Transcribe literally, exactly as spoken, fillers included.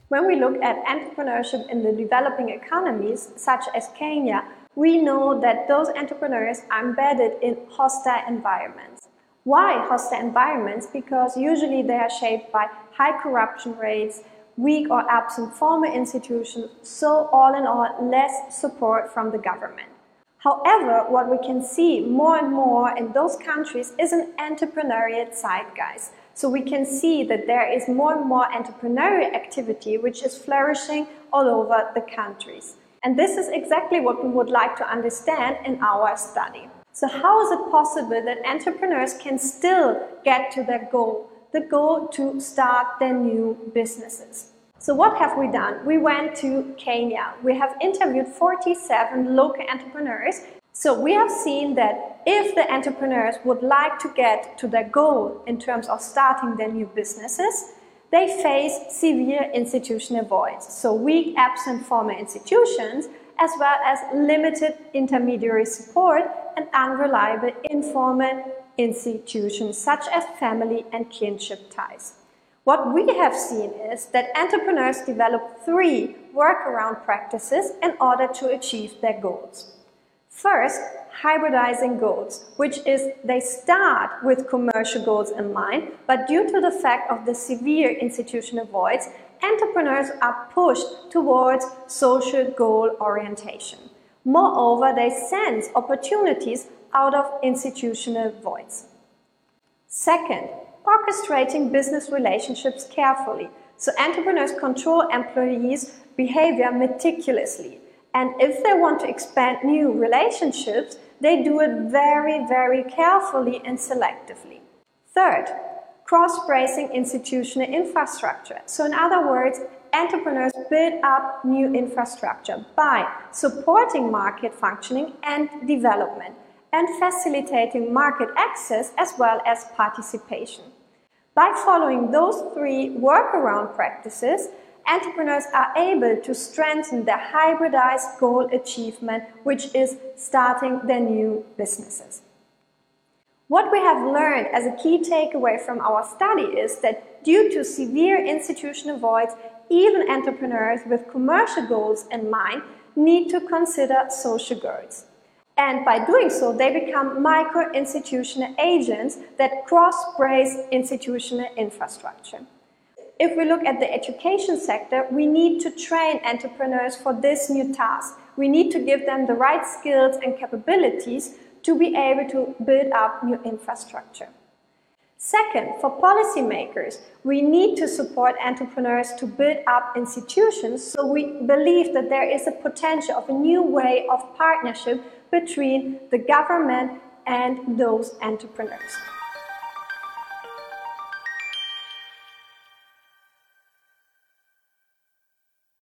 When we look at entrepreneurship in the developing economies, such as Kenya, we know that those entrepreneurs are embedded in hostile environments. Why hostile environments? Because usually they are shaped by high corruption rates, weak or absent formal institutions, so all in all, less support from the government. However, what we can see more and more in those countries is an entrepreneurial zeitgeist. So we can see that there is more and more entrepreneurial activity which is flourishing all over the countries. And this is exactly what we would like to understand in our study. So how is it possible that entrepreneurs can still get to their goal, the goal to start their new businesses? So what have we done? We went to Kenya. We have interviewed forty-seven local entrepreneurs. So we have seen that if the entrepreneurs would like to get to their goal in terms of starting their new businesses, they face severe institutional voids. So weak, absent formal institutions, as well as limited intermediary support and unreliable informal institutions such as family and kinship ties. What we have seen is that entrepreneurs develop three workaround practices in order to achieve their goals. First, hybridizing goals, which is they start with commercial goals in mind, but due to the fact of the severe institutional voids, entrepreneurs are pushed towards social goal orientation. Moreover, they sense opportunities out of institutional voids. Second, orchestrating business relationships carefully. So entrepreneurs control employees' behavior meticulously. And if they want to expand new relationships, they do it very, very carefully and selectively. Third, cross-bracing institutional infrastructure. So in other words, entrepreneurs build up new infrastructure by supporting market functioning and development and facilitating market access as well as participation. By following those three workaround practices, entrepreneurs are able to strengthen their hybridized goal achievement, which is starting their new businesses. What we have learned as a key takeaway from our study is that due to severe institutional voids, even entrepreneurs with commercial goals in mind need to consider social goals. And by doing so, they become micro-institutional agents that cross-brace institutional infrastructure. If we look at the education sector, we need to train entrepreneurs for this new task. We need to give them the right skills and capabilities to be able to build up new infrastructure. Second, for policymakers, we need to support entrepreneurs to build up institutions, so we believe that there is a potential of a new way of partnership between the government and those entrepreneurs.